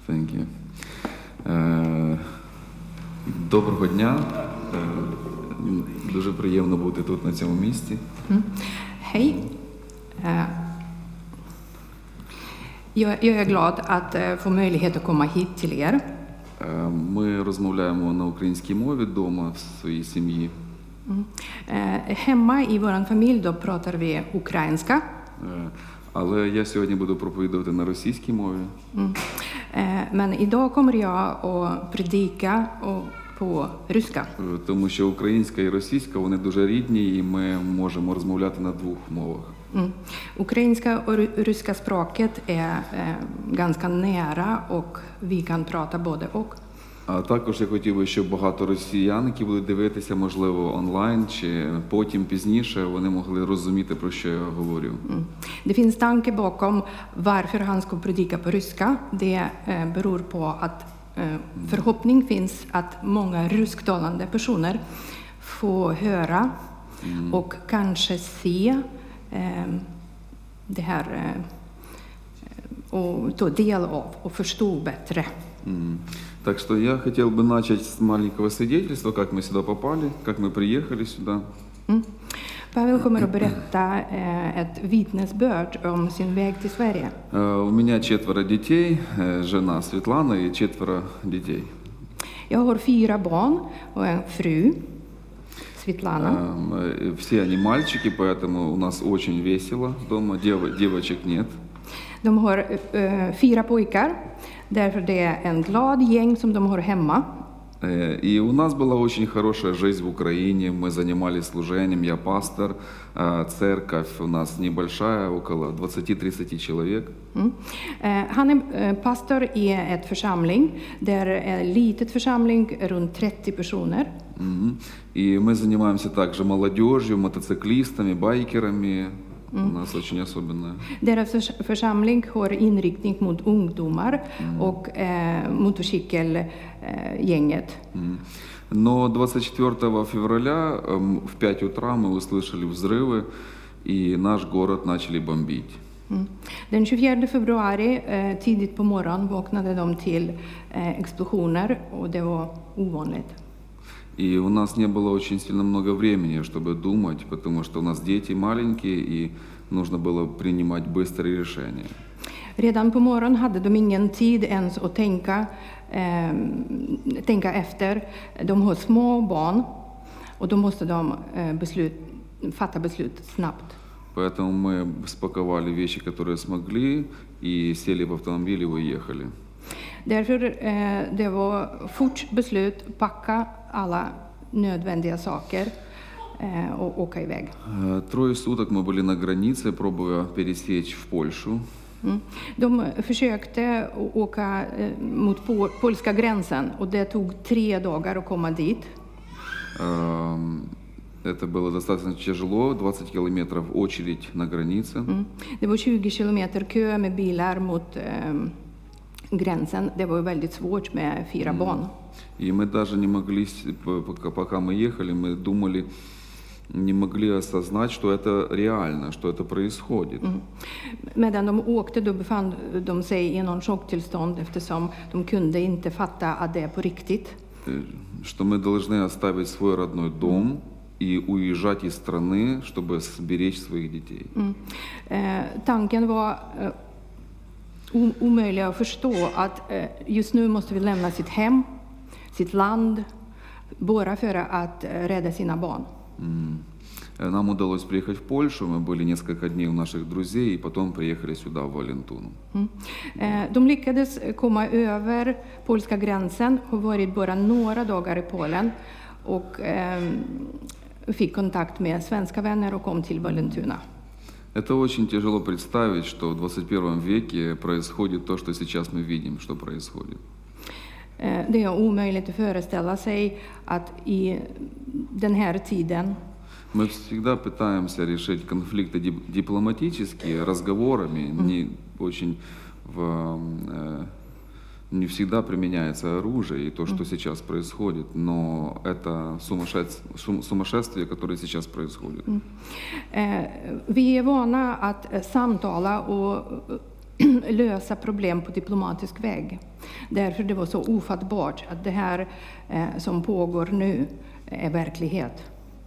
Thank you. Доброго дня. Дуже приємно бути тут, на цьому місці. Hej. Jag är glad att få möjlighet att komma hit till er. Ми розмовляємо на українській мові вдома в своїй сім'ї. Hemma i vår familj då pratar vi ukrainska. Але я сьогодні буду проповідувати на російській мові. Men idag kommer jag att predika på ryska. Тому що українська і російська, вони дуже рідні, і ми можемо розмовляти на двох мовах. Ukrainska och ryska språket är ganska nära och vi kan prata både och. А також я хотів би, щоб багато росіян, які будуть дивитися, можливо, онлайн чи потім пізніше, вони могли розуміти, про що я говорю. Det finns tanke bakom varför han ska predika på ryska. Det beror på att förhoppning finns att många rysktalande personer får höra och kanske se det här och ta del av och förstå bättre. Так что я хотел бы начать с маленького свидетельства, как мы сюда попали, как мы приехали сюда. Pavel kommer att berätta ett vittnesbörd om sin väg till Sverige. У меня 4 детей, жена Светлана и 4 детей. Jag har 4 barn och en fru, Svetlana. Все они мальчики, поэтому у нас очень весело дома, девочек нет. De har 4 pojkar, därför det är en glad gäng som de har hemma. И у нас была очень хорошая жизнь в Украине, мы занимались служением, я пастор, церковь у нас небольшая, около 20-30 человек. Han är pastor i ett församling, där är en litet församling, runt 30 personer. И мы занимаемся также молодежью, мотоциклистами, байкерами. У нас очень особенная. Deras församling har inriktning mot ungdomar och motorcykelgänget. Но 24 февраля в 5 утра мы услышали взрывы, и наш город начали бомбить. Den 24 februari, tidigt på morgonen, vaknade de till explosioner och det var ovanligt. И у нас не было очень сильно много времени, чтобы думать, потому что у нас дети маленькие, и нужно было принимать быстрые решения. Redan på morgonen hade de ingen tid ens att tänka efter. De har små barn och då måste de fatta beslut snabbt. Поэтому мы спаковали вещи, которые смогли, и сели в автомобиль и уехали. Därför det var fort beslut, packa alla nödvändiga saker och åka iväg. 3 суток мы были на границе, пробуя пересечь в Польшу. De försökte åka mot polska gränsen och det tog 3 dagar att komma dit. Это было достаточно тяжело, 20 километров очередь на границе. Det var 20 kilometer kö med bilar mot gränsen. Det var väldigt svårt med 4 barn. И мы даже не могли, пока мы ехали, мы думали, не могли осознать, что это реально, что это происходит. Medan de åkte då befann de sig i någon chocktillstånd eftersom de kunde inte fatta att det är på riktigt. Что мы должны оставить свой родной дом и уезжать из страны, чтобы сберечь своих детей. Tanken var omöjlig att förstå att just nu måste vi lämna sitt hem, sitt land, bara för att rädda sina barn. Нам удалось приехать в Польшу, мы были несколько дней у наших друзей, и потом приехали сюда, в Валентуну. De lyckades komma över polska gränsen och varit bara några dagar i Polen och fick kontakt med svenska vänner och kom till Vallentuna. Это очень тяжело представить, что в 21 веке происходит то, что сейчас мы видим, что происходит. Det är omöjligt att föreställa sig att i den här tiden. Мы всегда пытаемся решить конфликты дипломатически, разговорами, не всегда применяется оружие и то, что сейчас происходит, но это сумасшествие, которое сейчас происходит. Vi är vana att samtala och lösa problem på diplomatisk väg. Därför det var så ofattbart att det här som pågår nu är verklighet.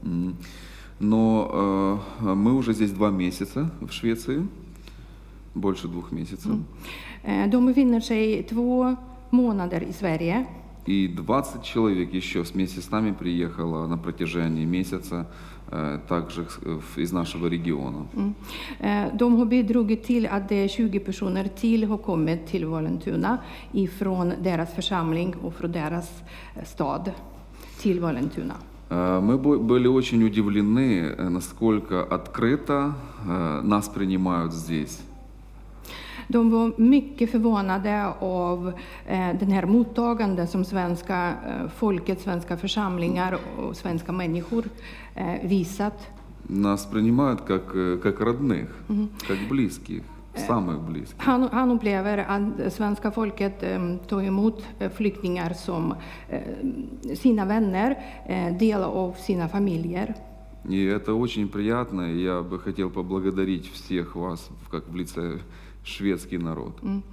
Но мы уже здесь 2 месяца в Швеции, больше 2 месяцев. De befinner sig 2 månader i Sverige. И 20 человек еще вместе с нами приехало на протяжении месяца, также из нашего региона. De har bidragit till att det 20 personer till har kommit till Vallentuna ifrån deras församling och från deras stad till Vallentuna. Мы были очень удивлены, насколько открыто нас принимают здесь. De var mycket förvånade av den här mottagande som svenska folket, svenska församlingar och svenska människor visat. Нас принимают как родных, как близких, самых близких. Han upplever att svenska folket tar emot flyktingar som sina vänner, delar av sina familjer. И это очень приятно. Я бы хотел поблагодарить всех вас, как в лице шведский народ.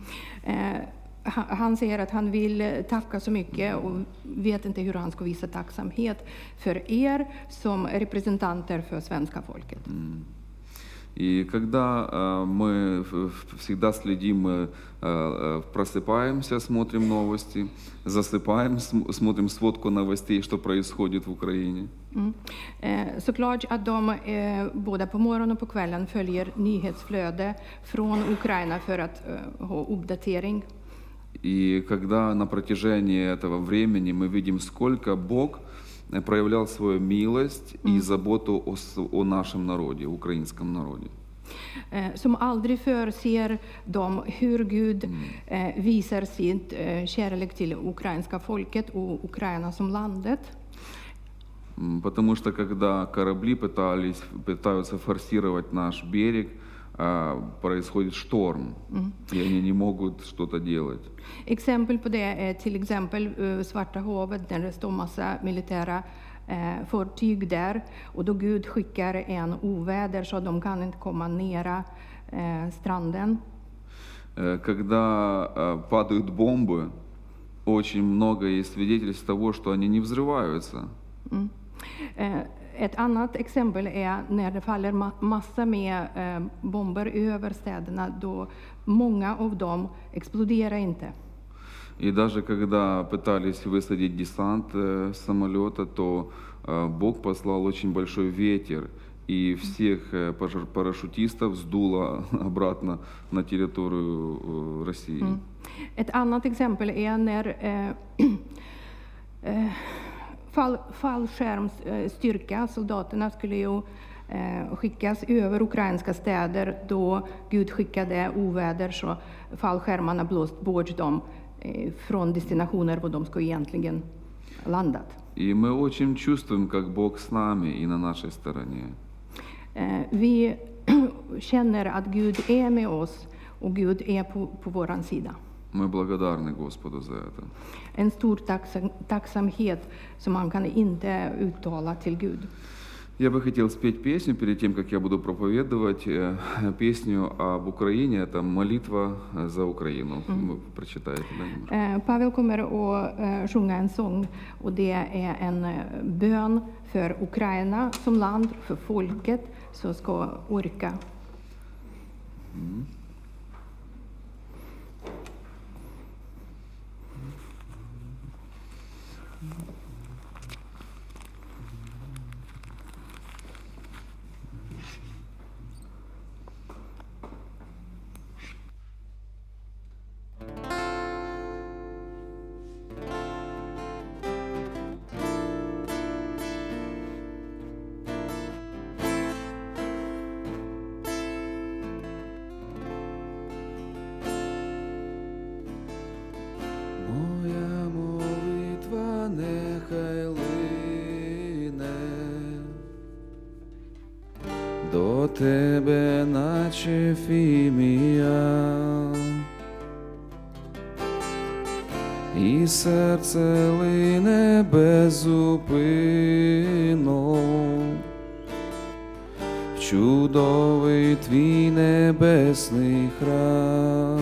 Han säger att han vill tacka så mycket och vet inte hur han ska visa tacksamhet för er som representanter för svenska folket. И когда мы всегда следим, мы просыпаемся, смотрим новости, засыпаем, смотрим сводку новостей, что происходит в Украине. Såklart att de både på morgonen och på kvällen följer nyhetsflöde från Ukraina för att ha uppdatering. И когда на протяжении этого времени мы видим, сколько Бог проявлял свою милость и заботу о нашем народе, украинском народе. Som aldrig förr ser de hur Gud visar sitt kärlek till ukrainska folket och Ukraina som landet. Потому что когда корабли пытаются форсировать наш берег, происходит шторм, и они не могут что-то делать. Exempel på det är till exempel Svarta havet där det står massa militära fartyg där och då Gud skickar en oväder så de kan inte komma nära stranden. Когда падают бомбы, очень много есть свидетельств того, что они не взрываются. Ett annat exempel är när det faller massa med bomber över städerna, då många av dem exploderar inte. И даже когда пытались высадить десант с самолета, то Бог послал очень большой ветер, и всех парашютистов сдуло обратно на территорию России. Ett annat exempel är när fallskärmsstyrka, soldaterna skulle ju skickas över ukrainska städer då Gud skickade oväder så fallskärmarna blåst bort dem från destinationer var de skulle egentligen landat. И мы очень чувствуем, как Бог с нами и на нашей стороне. Vi känner att Gud är med oss och Gud är på våran sida. Мы благодарны Господу за это. En stor tacksamhet som man kan inte uttala till Gud. Я бы хотел спеть песню перед тем, как я буду проповедовать. Песню об Украине. Это молитва за Украину. Вы прочитаете, да? Pavel kommer att sjunga en sång och det är en bön för Ukraina som land, för folket som ska orka. Моя молитва нехай лине до тебе, наче фімія, і серце лине безупинно в чудовий твій небесний храм.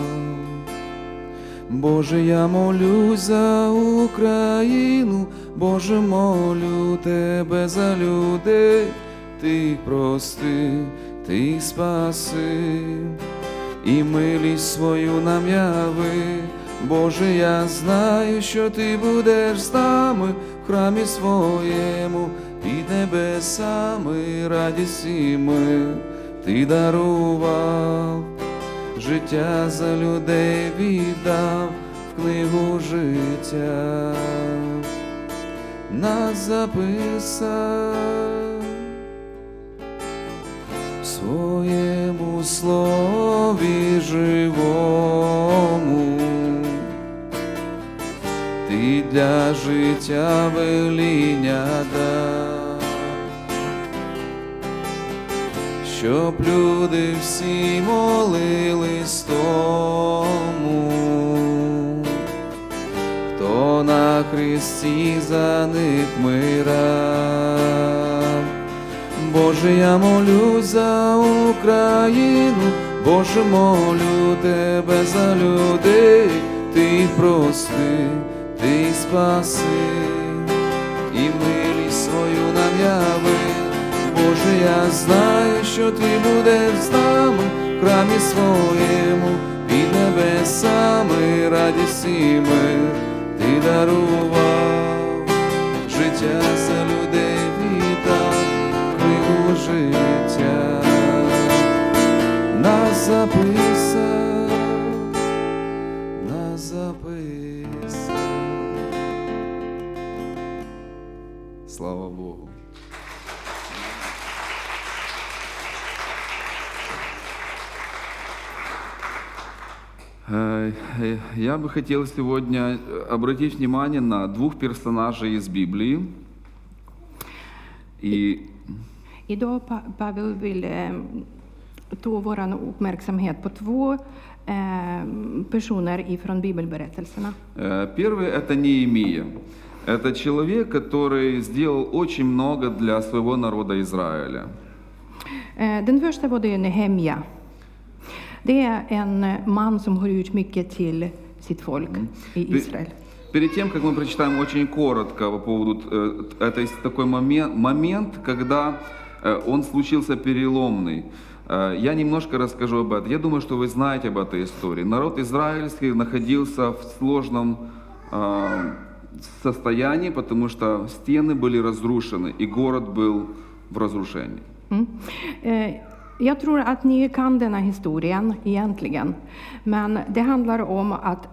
Боже, я молюсь за Україну, Боже, молю Тебе за людей, Ти їх прости, Ти їх спаси, і милість свою нам яви. Боже, я знаю, що Ти будеш з нами в храмі своєму, під небесами радість і мир Ти дарував, життя за людей віддав, в книгу життя нас записав. В своєму слові живому Ти для життя веління дав, щоб люди всі молились тому, хто на хресті за них мирав. Боже, я молюсь за Україну, Боже, молю Тебе за людей, Ти їх прости, Ти їх спаси, і милість свою нам яви. Боже, я знаю, що Ти будеш з нами в храмі своєму, під небесами радість і мир Ти дарував, життя за людей віддав, книгу життя нас записав, нас записав. Слава Богу. Я бы хотел сегодня обратить внимание на двух персонажей из Библии. Idag Pavel vill ta vår uppmärksamhet på två personer ifrån bibelberättelserna. Первый — это Неемия. Это человек, который сделал очень много для своего народа Израиля. Den första var det Nehemja. Det är en man som har gjort mycket till sitt folk i Israel. Перед тем, как мы прочитаем очень коротко по поводу, это такой момент, когда он случился переломный. Я немножко расскажу об этом. Я думаю, что вы знаете об этой истории. Народ израильский находился в сложном состоянии, потому что стены были разрушены, и город был в разрушении. Jag tror att ni kan denna historien egentligen, men det handlar om att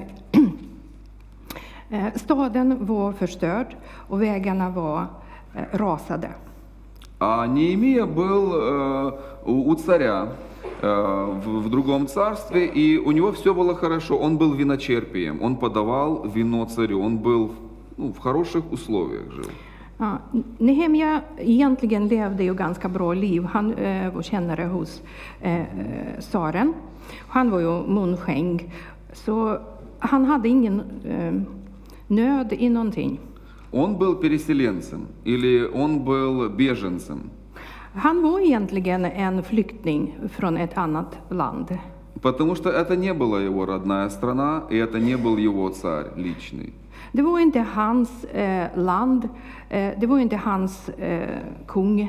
staden var förstörd och vägarna var rasade. А Неемия был у царя в другом царстве, и у него все было хорошо. Он был виночерпием, он подавал вино царю, он был в хороших условиях жил. Ja, Nehemja egentligen levde ju ganska bra liv. Han var kännare hos tsaren. Han var ju munskänk, så han hade ingen nöd i någonting. Он был переселенцем или он был беженцем. Han var egentligen en flykting från ett annat land. Потому что это не была его родная страна, и это не был его царь личный. Det var inte hans land, det var inte hans kung.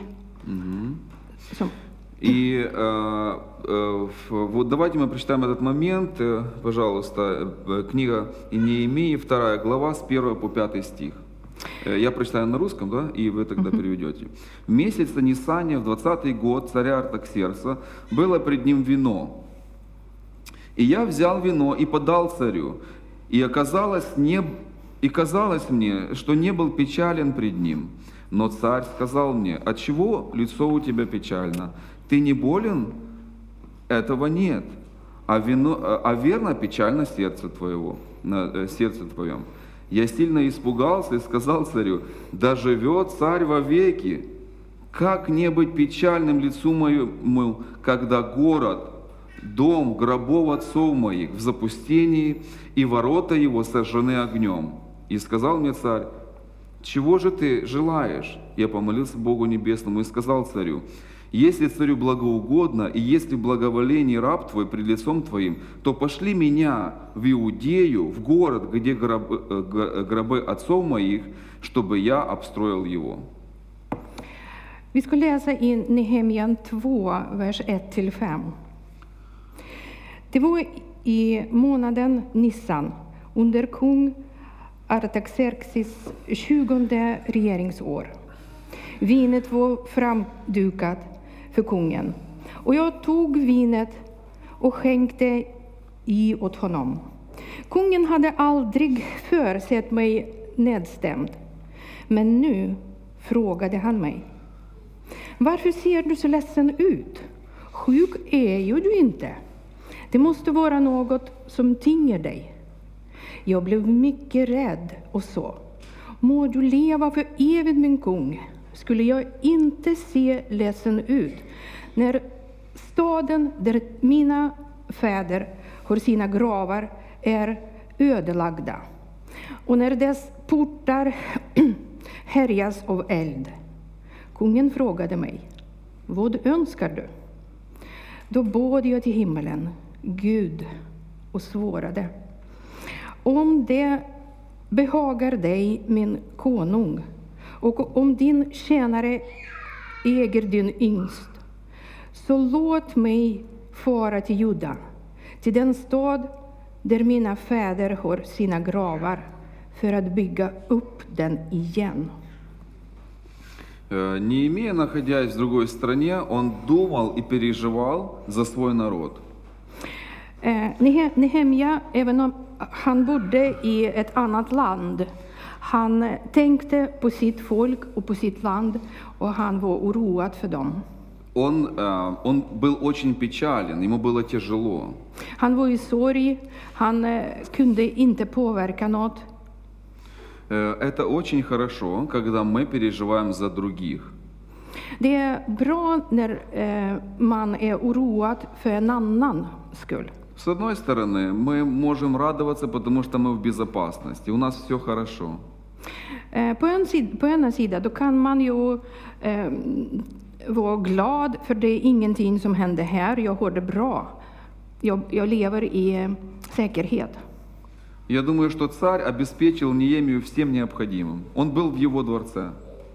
И вот давайте мы прочитаем этот момент, пожалуйста, книга Неемии, 2 глава, с 1 по 5 стих. Я прочитаю на русском, да, и вы тогда переведете. В месяц Нисания, в 20-й год царя Артаксеркса, было пред ним вино. И я взял вино и подал царю, и казалось мне, что не был печален пред ним. Но царь сказал мне: отчего лицо у тебя печально? Ты не болен? Этого нет. А верно печально сердце твоем. Я сильно испугался и сказал царю: да живет царь вовеки. Как не быть печальным лицу моему, когда город, дом гробов отцов моих в запустении, и ворота его сожжены огнем? И сказал мне царь: чего же ты желаешь? Я помолился Богу Небесному и сказал царю: Если царю благоугодно, и если благоволение раб твой пред лицом твоим, то пошли меня в Иудею, в город, где гробы отцов моих, чтобы я обстроил его». Vi ska läsa i Nehemja 2, vers 1-5. Det var i månaden Nissan under kung Artaxerxes 20:e regeringsår. Vinet var framdukat för kungen, och jag tog vinet och skänkte i åt honom. Kungen hade aldrig förr sett mig nedstämd, men nu frågade han mig: "Varför ser du så ledsen ut? Sjuk är ju du inte. Det måste vara något som tynger dig." Jag blev mycket rädd och sa: "Må du leva för evigt, min kung. Skulle jag inte se ledsen ut när staden där mina fäder har sina gravar är ödelagda och när dess portar härjas av eld?" Kungen frågade mig: "Vad önskar du?" Då bad jag till himmelen, Gud, och svarade: "Om det behagar dig, min konung, och om din tjänare äger din yngst, så låt mig fara till Juda, till den stad där mina fäder har sina gravar, för att bygga upp den igen." Неемия, находясь в другой стране, он думал и переживал за свой народ. Nehemja, även om han bodde i ett annat land, han tänkte på sitt folk och på sitt land, och han var oroad för dem. Он был очень печален, ему было тяжело. Han var i sorg, han kunde inte påverka något. Это очень хорошо, когда мы переживаем за других. Det är bra när man är oroad för en annan skull. С одной стороны, мы можем радоваться, потому что мы в безопасности, у нас все хорошо. På ena sidan då kan man ju vara glad, för det är ingenting som händer här, jag har det bra. Jag lever i säkerhet. Я думаю, что царь обеспечил Неемию всем необходимым. Он был в его дворце.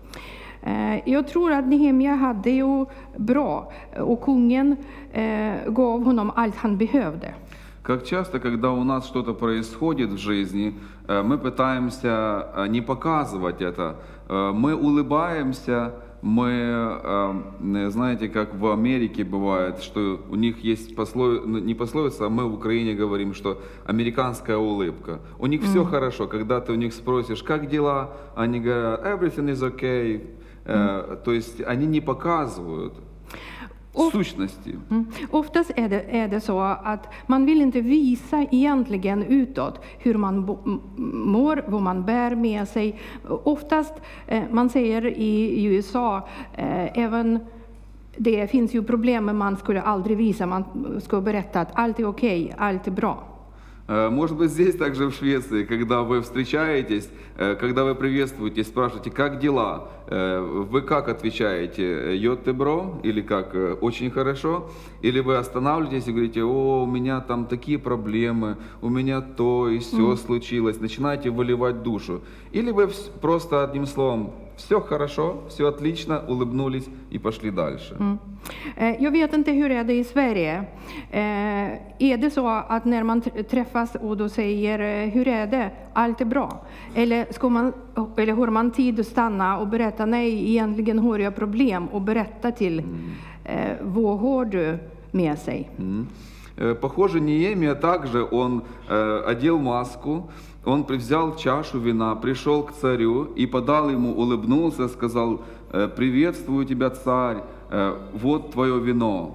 Jag tror att Nehemja hade ju bra, och kungen gav honom allt han behövde. Как часто, когда у нас что-то происходит в жизни, мы пытаемся не показывать это. Мы улыбаемся, мы, знаете, как в Америке бывает, что у них есть не пословица, а мы в Украине говорим, что американская улыбка. У них все хорошо. Когда ты у них спросишь, как дела, они говорят, everything is okay. То есть они не показывают сущности. Oftast är det så att man vill inte visa egentligen utåt hur man mår, vad man bär med sig. Oftast, man säger i USA, även det finns ju problem, men man skulle aldrig visa, man ska berätta att allt är okej, allt är bra. Может быть, здесь также в Швеции, когда вы встречаетесь, когда вы приветствуете, спрашиваете, как дела, вы как отвечаете, «Йоттебро» или как «очень хорошо», или вы останавливаетесь и говорите, «О, у меня там такие проблемы, у меня то и все случилось», начинаете выливать душу. Или вы просто одним словом «все хорошо, все отлично», улыбнулись и пошли дальше. Jag vet inte hur är det i Sverige. Är det så att när man träffas och då säger hur är det, allt är bra? Eller har man tid att stanna och berätta, nej, egentligen har jag problem, och berätta till vad har du med sig? Похоже, Неемия также, он одел маску, он взял чашу вина, пришел к царю и подал ему, улыбнулся, сказал, «Приветствую тебя, царь, вот твое вино».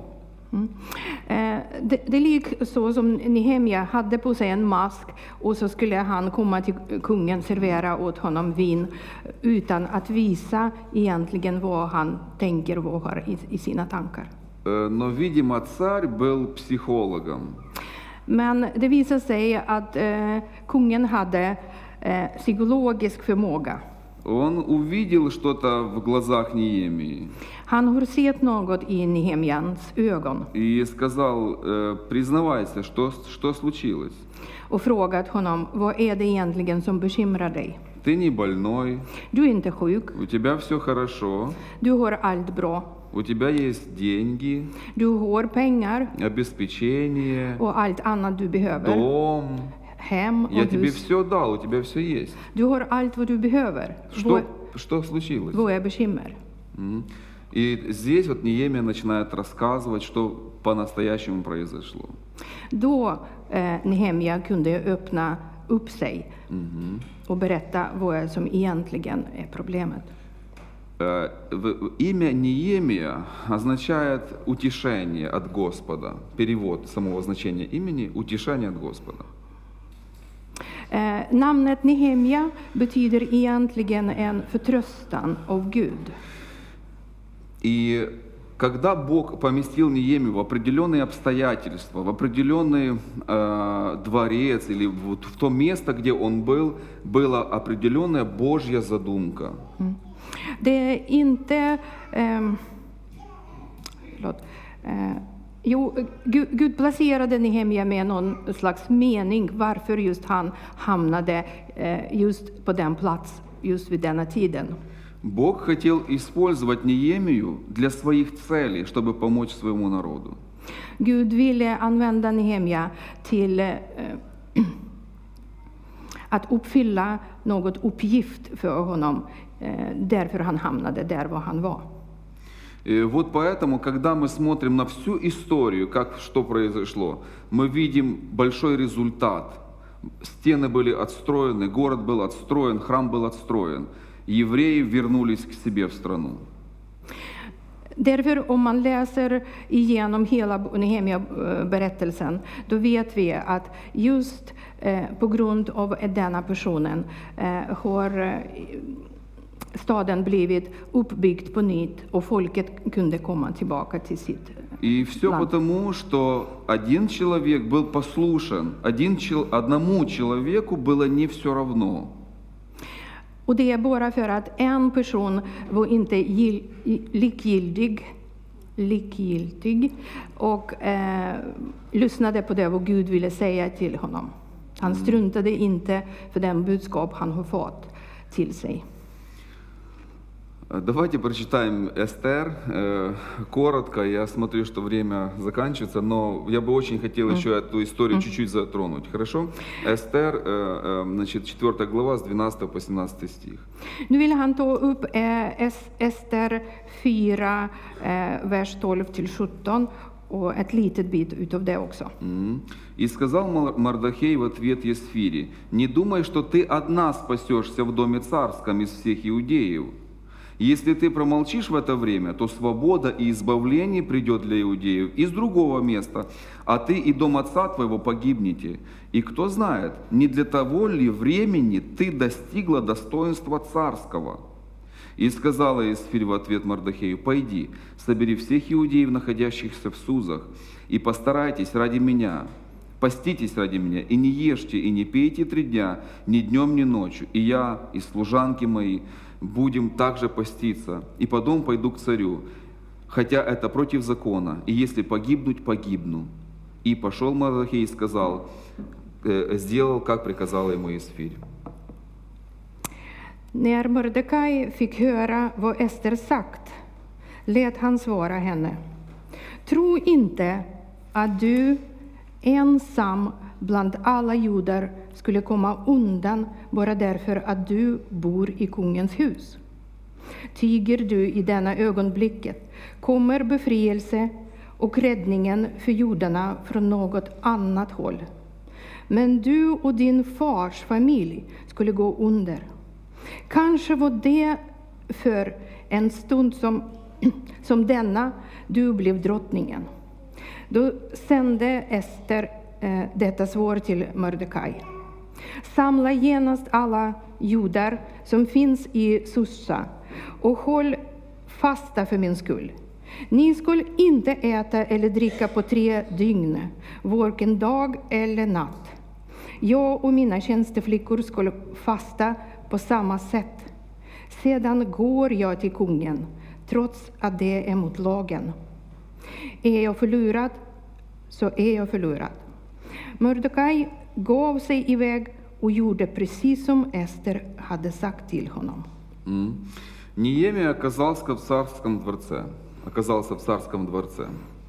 Det är lik så som Nehemja hade på sig en mask, och så skulle han komma till kungen, servera åt honom vin utan att visa egentligen vad han tänker och vad har i sina tankar. Но, видимо, царь был психологом. Men det visar sig att kungen hade psykologisk förmåga. Он увидел что-то в глазах Неемии Han har sett något i Nehemjans ögon и сказал, признавайся, что случилось. och frågat honom, vad är det egentligen som bekymrar dig? Ты не больной, Du är inte sjuk, у тебя все хорошо, du har allt bra, у тебя есть деньги, du har pengar обеспечение, och allt annat du behöver, дом. hem Я och тебе hus. все дал, у тебя все есть. Du har allt vad du behöver. Что случилось? Vad är bekymmer? И здесь вот Неемия начинает рассказывать, что по-настоящему произошло. Då Nehemja kunde öppna upp sig och berätta vad som egentligen är problemet. Имя Неемия означает утешение от Господа. Перевод самого значения имени – утешение от Господа. Namnet Nehemja betyder egentligen en förtröstan av Gud. И когда Бог поместил Неемию в определенные обстоятельства, в определенный дворец или вот в то место, где он был, была определенная Божья задумка. Det är inte... Gud placerade Nehemja med någon slags mening varför just han hamnade just på den plats just vid denna tiden. Бог хотел использовать Неемию для своих целей, чтобы помочь своему народу. Gud ville använda Nehemja till att uppfylla något uppgift för honom, därför han hamnade där var han var. Вот поэтому, когда мы смотрим на всю историю, что произошло, мы видим большой результат. Стены были отстроены, город был отстроен, храм был отстроен. Евреи вернулись к себе в страну. Därför om man läser igenom hela Nehemja-berättelsen, då vet vi att just på grund av denna personen har staden blivit uppbyggd på nytt och folket kunde komma tillbaka till sitt И все land. потому, что один человек был послушен, одному человеку было не все равно. Och det är bara för att en person var inte likgiltig och lyssnade på det vad Gud ville säga till honom. Han struntade inte för den budskap han har fått till sig. Давайте прочитаем Эстер коротко. Я смотрю, что время заканчивается, но я бы очень хотел еще эту историю чуть-чуть затронуть. Хорошо? Эстер, значит, 4 глава с 12 по 17 стих. Nu vill han ta upp Ester 4, vers 12-17 och ett litet bit utav det också. «И сказал Мардохей в ответ Есфире: не думай, что ты одна спасешься в доме царском из всех иудеев. Если ты промолчишь в это время, то свобода и избавление придет для иудеев из другого места, а ты и дом отца твоего погибнете. И кто знает, не для того ли времени ты достигла достоинства царского?» И сказала Есфирь в ответ Мардохею: «Пойди, собери всех иудеев, находящихся в Сузах, и постарайтесь ради меня, поститесь ради меня, и не ешьте, и не пейте 3 дня, ни днем, ни ночью, и я, и служанки мои будем также поститься, и потом пойду к царю, хотя это против закона, и если погибнуть, погибну». И пошел Мардохей и сказал, сделал, как приказала ему Есфирь. När Mordecai fick höra vad Ester sagt, lät han svara henne: tro inte att du ensam bland alla judar skulle komma undan bara därför att du bor i kungens hus. Tiger du i denna ögonblicket kommer befrielse och räddningen för judarna från något annat håll. Men du och din fars familj skulle gå under. Kanske var det för en stund som denna du blev drottningen. Då sände Ester detta svar till Mordecai: samla genast alla judar som finns i Susa och håll fasta för min skull. Ni skulle inte äta eller dricka på 3 dygn, varken dag eller natt. Jag och mina tjänsteflickor skulle fasta på samma sätt. Sedan går jag till kungen, trots att det är mot lagen. Är jag förlorad, så är jag förlorad. Mordecai gav sig iväg och gjorde precis som Ester hade sagt till honom. Неемия оказался в царском дворце.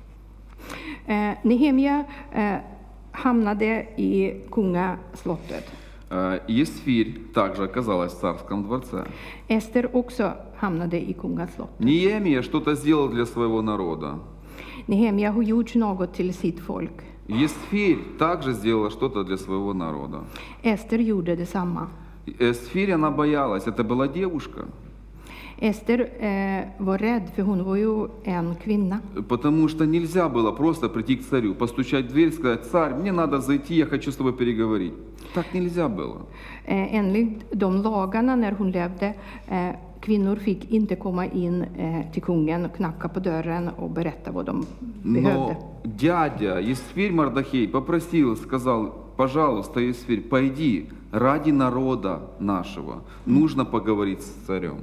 Nehemia hamnade i kungaslottet. Есфирь также оказалась в царском дворце. Ester också hamnade i kungaslottet. Неемия что-то сделал для своего народа. Nehemia har gjort något till sitt folk. Есфирь также сделала что-то для своего народа. Ester gjorde detsamma. Есфирь, она боялась, это была девушка. Ester var rädd, för hon var ju en kvinna. Потому что nельзя было просто прийти к царю, постучать в дверь, сказать: «Царь, мне надо зайти, я хочу с тобой переговорить». Так нельзя было. Enligt de lagarna när hon levde, kvinnor fick inte komma in till kungen och knacka på dörren och berätta vad de behövde. Но дядя Есфирь Мардахей попросил, сказал: «Пожалуйста, Есфирь, пойди, ради народа нашего, нужно поговорить с царем».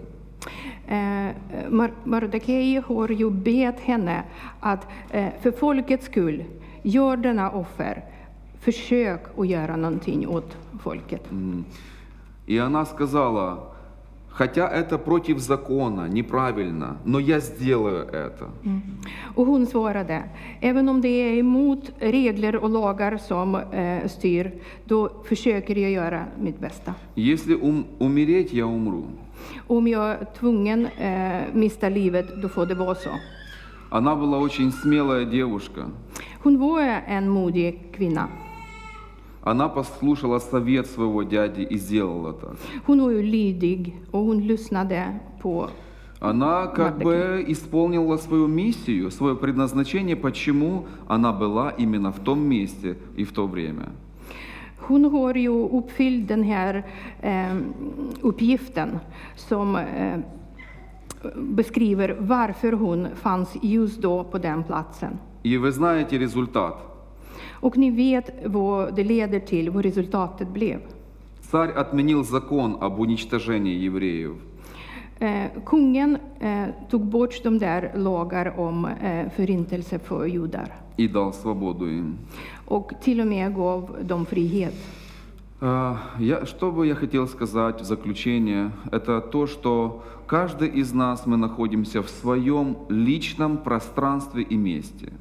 Mordecai har ju bett henne att för folkets skull, gör denna offer, försök att göra någonting åt folket. И она сказала: «Хотя это против закона, неправильно, но я сделаю это». Och hon svarade: även om det är emot regler och lagar som styr, då försöker jag göra mitt bästa. Если умереть, я умру. Om jag är tvungen mista livet, då får det vara så. Она была очень смелая девушка. Hon var en modig kvinna. Она послушала совет своего дяди и сделала так. Hon var ju lydig och hon lyssnade på. Она как бы исполнила свою миссию, свое предназначение, почему она была именно в том месте и в то время. Hon har ju uppfyllt den här uppgiften som beskriver varför hon fanns just då på den platsen. И вы знаете результат. Och ni vet vad det leder till, vad resultatet blev. Царь отменил закон об уничтожении евреев. Kungen tog bort de där lagar om förintelse för judar. И дал свободу им. Och till och med gav dem frihet. Что бы я хотел сказать в заключение, это то, что каждый из нас, мы находимся в своем личном пространстве и месте.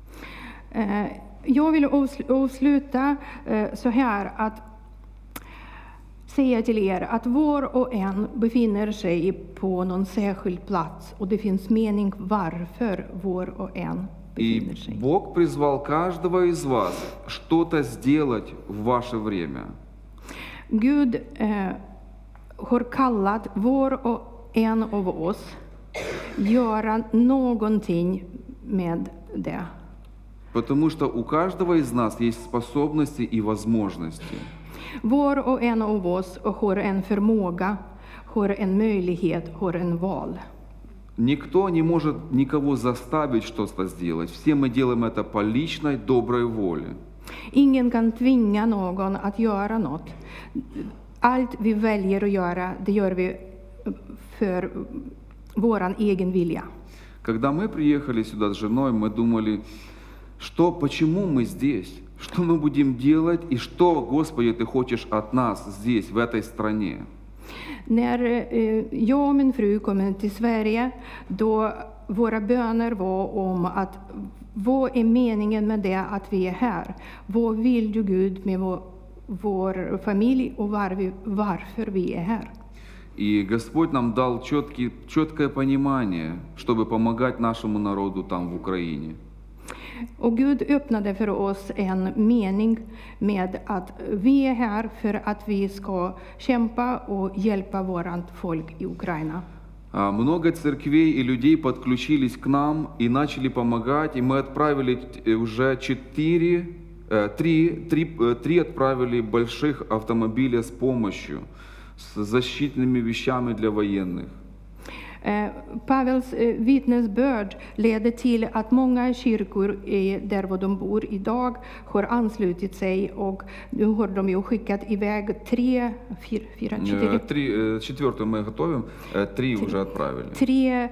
Jag vill avsluta så här, att säga till er att var och en befinner sig på någon särskild plats, och det finns mening varför var och en befinner sig. И Бог призвал каждого из вас что-то сделать в ваше время. Gud har kallat var och en av oss göra någonting med det. Потому что у каждого из нас есть способности и возможности. Var och en av oss har en förmåga, har en möjlighet, har en val. Никто не может никого заставить что-то сделать. Все мы делаем это по lичной доброй воле. Ingen kan tvinga någon att göra något. Allt vi väljer att göra, det gör vi för våran egen vilja. Когда мы приехали сюда с женой, мы думали, почему мы здесь? Что мы будем делать и что, Господи, Ты хочешь от нас здесь, в этой стране? När jag och min fru kom till Sverige, då våra böner var om att vad är meningen med det att vi är här? Vad vill du, Gud, med vår familj och varför vi är här? И Господь нам дал четкое понимание, чтобы помогать нашему народу там, в Украине. Och Gud öppnade för oss en mening med att vi är här för att vi ska kämpa och hjälpa vårt folk i Ukraina. Много церквей и людей подключились к нам и начали помогать, и мы отправили уже три отправили больших автомобиля с помощью, с защитными вещами для военных. Pavels vittnesbörd leder till att många kyrkor där de bor idag har anslutit sig, och nu har de ju skickat iväg 4 мы готовим, 3 уже отправили. 3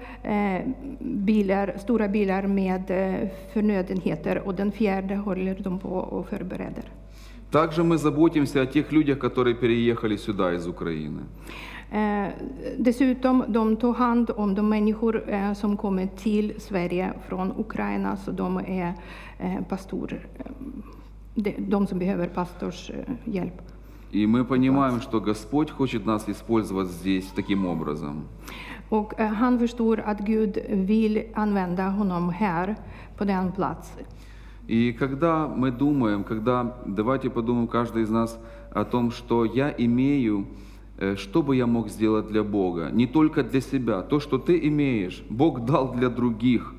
stora bilar med förnödenheter, och den 4:e håller de på och förbereder. Также мы заботимся о тех людях, которые переехали сюда из Украины. Dessutom, de tog hand om de människor som kommer till Sverige från Ukraina, så de är de som behöver pastors hjälp. И мы понимаем, что Господь хочет нас использовать здесь таким образом. Och han förstår att Gud vill använda honom här på den plats. И когда мы думаем, давайте подумаем каждый из нас о том, что я имею, что бы я мог сделать для Бога, не только для себя. То, что ты имеешь, Бог дал для других.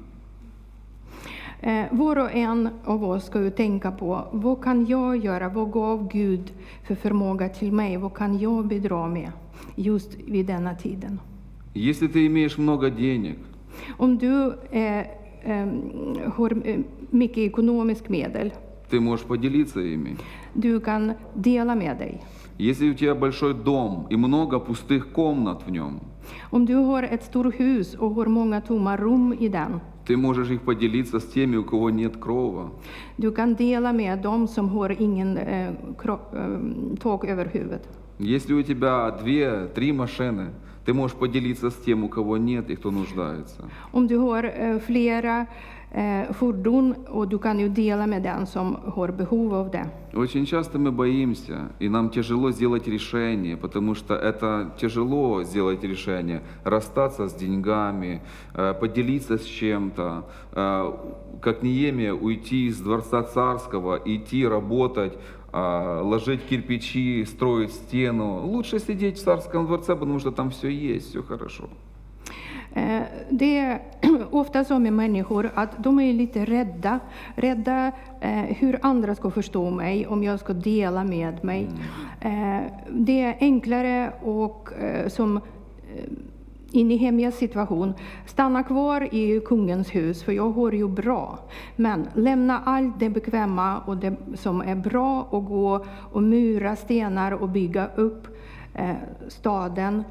Var och en av oss ska ju tänka på, vad kan jag göra, vad gav Gud för förmåga till mig, vad kan jag bidra med just vid denna tiden. Если ты имеешь много денег, om du har mycket ekonomisk medel, ты можешь поделиться ими. Du kan dela med dig. Если у тебя большой дом и много пустых комнат в нем, om du har ett stort hus och har många tomma rum i den, ты можешь их поделиться с теми, у кого нет крова. Du kan dela med dem som har ingen tak över huvudet. Если у тебя 2-3 машины, ты можешь поделиться с тем, у кого нет и кто нуждается. Om du har flera fordon, och du kan ju dela med den som har behov av det. Очень часто мы боимся, и нам тяжело сделать решение, потому что это тяжело сделать решение, расстаться с деньгами, поделиться с чем-то, как Неемия уйти из дворца царского, идти работать, ложить кирпичи, строить стену. Лучше сидеть в царском дворце, потому что там все есть, все хорошо. Det är ofta så med människor att de är lite rädda hur andra ska förstå mig om jag ska dela med mig. Det är enklare och som i Nehemias situation, stanna kvar i kungens hus, för jag har ju bra. Men lämna allt det bekväma och det som är bra och gå och mura stenar och bygga upp staden.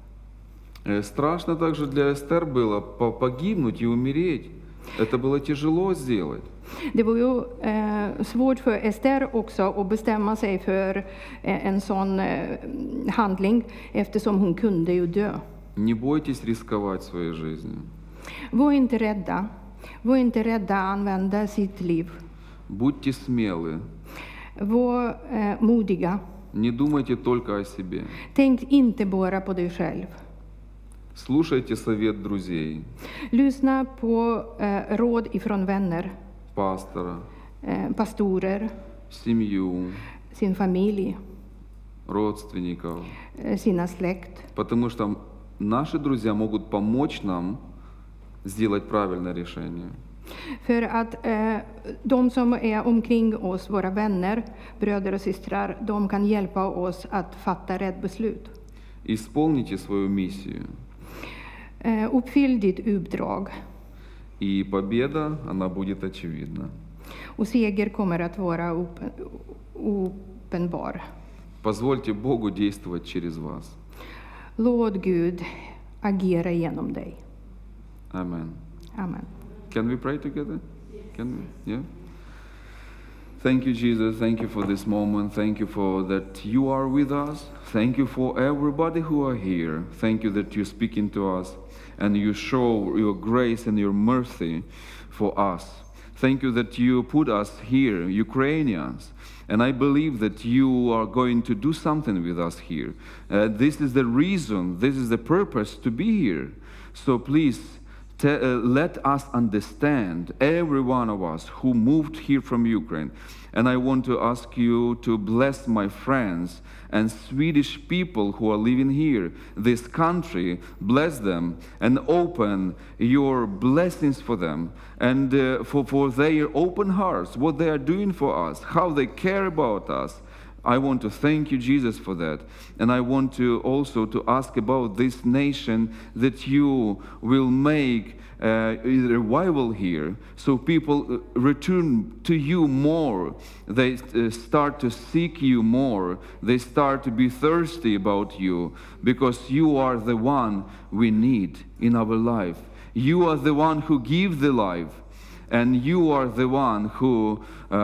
Страшно также для Эстер было погибнуть и умереть. Это было тяжело сделать. Det var ju svårt för Ester också att bestämma sig för en sån handling, eftersom hon kunde ju dö. Не бойтесь рисковать своей жизнью. Var inte rädda. Var inte rädda att använda sitt liv. Будьте смелы. Var modiga. Не думайте только о себе. Tänk inte bara på dig själv. Слушайте совет друзей. Lyssna på råd ifrån vänner. Пастора. Pastorer. Семью. Sin familj. Родственников. Sina släkt. Потому что наши друзья могут помочь нам сделать правильное решение. För att de som är omkring oss, våra vänner, bröder och systrar, de kan hjälpa oss att fatta rätt beslut. Исполните свою миссию. Uppfyll ditt uppdrag. И победа, она будет очевидна. Och seger kommer att vara uppenbar. Позвольте Богу действовать через вас. Låt Gud agera genom dig. Amen. Amen. Can we pray together? Can we? Yeah. Thank you, Jesus. Thank you for this moment. Thank you for that you are with us. Thank you for everybody who are here. Thank you that you're speaking to us and you show your grace and your mercy for us. Thank you that you put us here, Ukrainians. And I believe that you are going to do something with us here. This is the reason, this is the purpose to be here. So please, let us understand, every one of us who moved here from Ukraine. And I want to ask you to bless my friends and Swedish people who are living here, this country, bless them and open your blessings for them and for their open hearts, what they are doing for us, how they care about us. I want to thank you, Jesus, for that. And I want to also to ask about this nation, that you will make a revival here, so people return to you more. They start to seek you more. They start to be thirsty about you, because you are the one we need in our life. You are the one who gives the life, and you are the one whom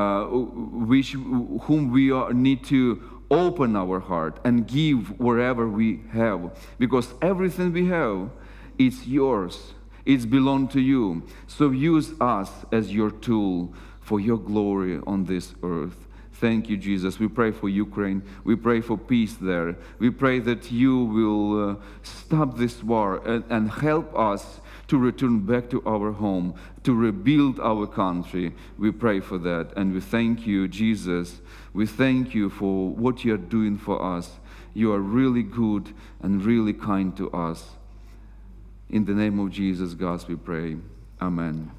we need to open our heart and give wherever we have, because everything we have is yours. It's belong to you. So use us as your tool for your glory on this earth. Thank you, Jesus. We pray for Ukraine. We pray for peace there. We pray that you will stop this war and help us to return back to our home, to rebuild our country. We pray for that. And we thank you, Jesus. We thank you for what you are doing for us. You are really good and really kind to us. In the name of Jesus, God, we pray. Amen.